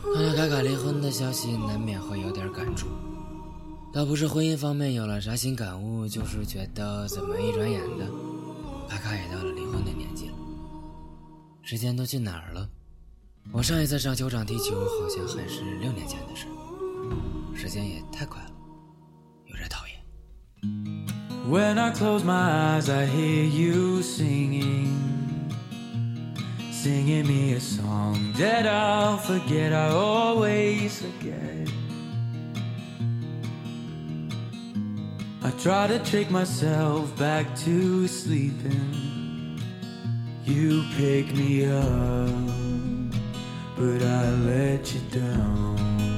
看到卡卡离婚的消息，难免会有点感触。倒不是婚姻方面有了啥新感悟，就是觉得怎么一转眼的，卡卡也到了离婚的年纪了。时间都去哪儿了？我上一次上球场踢球好像还是6年前的事，时间也太快了，有点讨厌。 When I close my eyes, I hear you singing me a song that I'll forget, I always forget. I try to trick myself back to sleeping. You pick me up, but I let you down.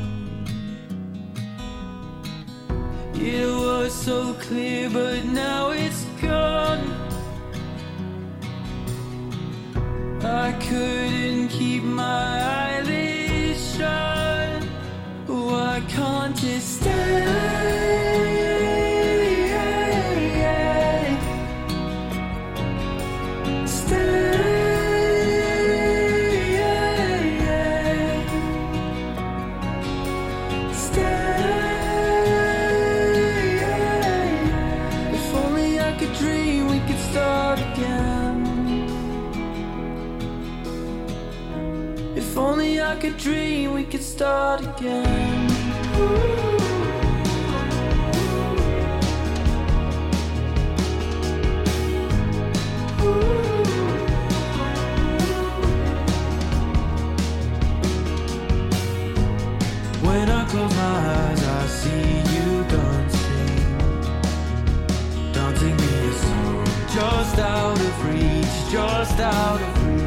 It was so clear, but now it's gone. I couldn't keep my eyelids shut. Why can't you stay? If only I could dream we could start again. When I close my eyes, I see you dancing me a song, just out of reach, just out of reach.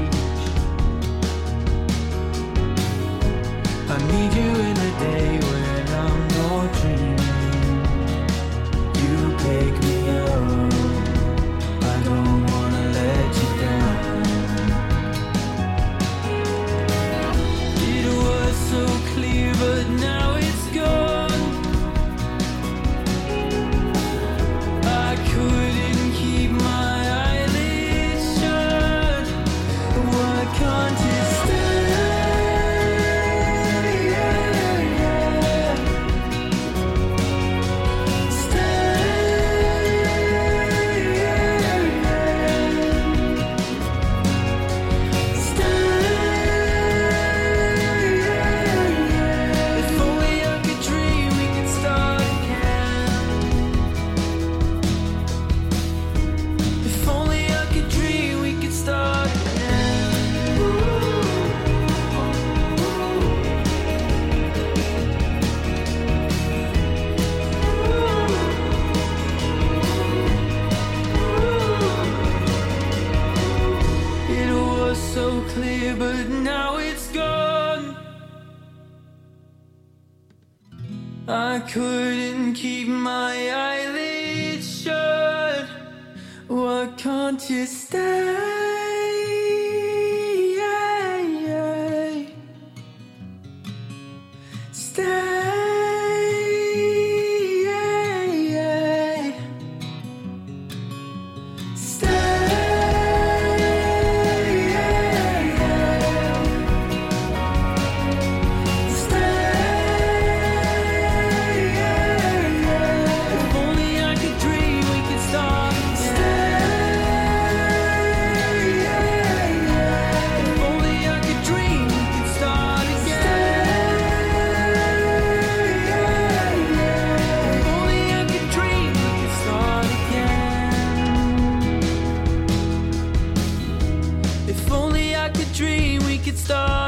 I need you in the day when I'm not dreaming. You pick me up, I don't wanna let you down. It was so clear, but now it's gone. I couldn't keep my eyelids shut. Why can't you stay? So clear, but now it's gone. I couldn't keep my eyelids shut. Why can't you stay? Stay. If only I could dream we could start